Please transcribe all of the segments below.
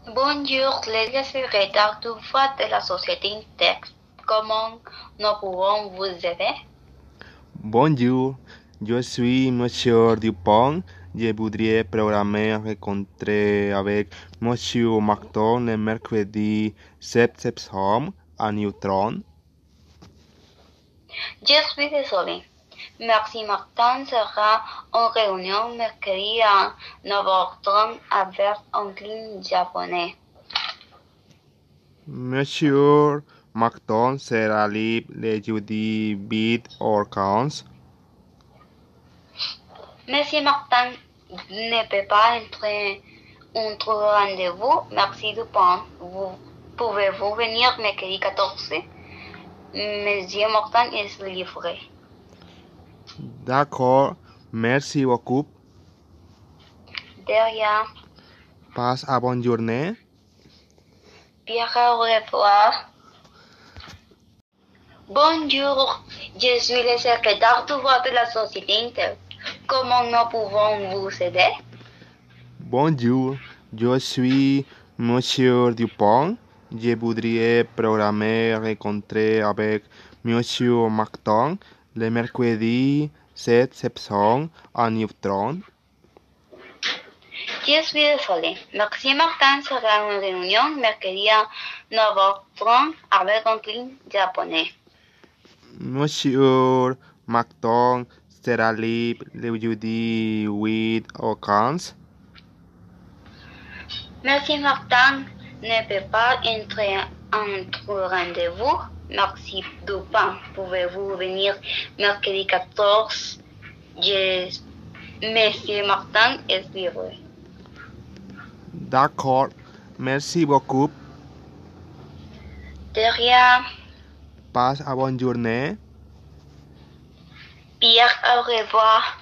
Bonjour, les secrétaires du vote de la société Intex. Comment nous pouvons vous aider? Bonjour, je suis Monsieur Dupont. Je voudrais programmer un rencontre avec Monsieur Macton le mercredi 7 septembre à Newton. Je suis désolé. Merci Martin sera en réunion mercredi à 9h30 avec un client japonais. Monsieur Macton sera libre le jeudi 8 ou 15. Monsieur Martin ne peut pas entrer entre rendez-vous. Merci Dupont. Pouvez-vous venir mercredi 14? Monsieur Martin est libre. D'accord, merci beaucoup. De rien. Passe à bonne journée. Bien, au revoir. Bonjour, je suis le secrétaire du vote de la société Intel. Comment nous pouvons vous aider? Bonjour, je suis Monsieur Dupont. Je voudrais programmer une rencontre avec Monsieur Macton le mercredi 7 septembre à Newton. Je suis désolé. Merci Martin sera en réunion mercredi à 9h30 avec un client japonais. Monsieur Macton sera libre le jeudi 8 au 15. Merci Martin ne peut pas entrer entre rendez-vous. Merci Dupin. Pouvez-vous venir mercredi 14? Monsieur Martin est libre. D'accord, merci beaucoup. De rien. Passe à bonne journée. Bien, au revoir.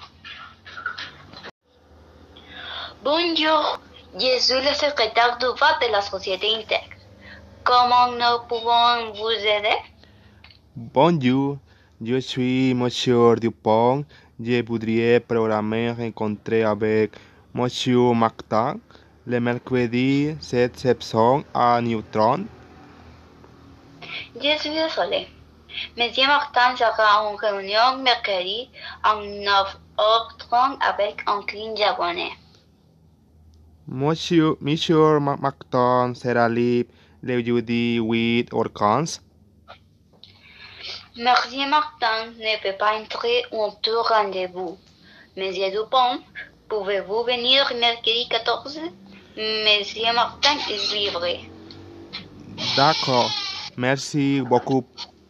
Bonjour, je suis le secrétaire du vote de la société Intex. Comment nous pouvons vous aider? Bonjour, je suis Monsieur Dupont. Je voudrais programmer une rencontre avec Monsieur Macton le mercredi 7 septembre à Newton. Je suis désolé. Monsieur Martin sera en réunion mercredi à 9h30 avec un client japonais. Monsieur Macton sera libre le jeudi 8 ou 15. Monsieur Martin ne peut pas entrer entre rendez-vous. Monsieur Dupont, pouvez-vous venir mercredi 14? Monsieur Martin est libre. D'accord, merci beaucoup.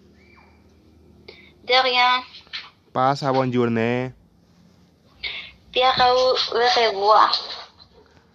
De rien. Passe à bonne journée. Bien, au revoir.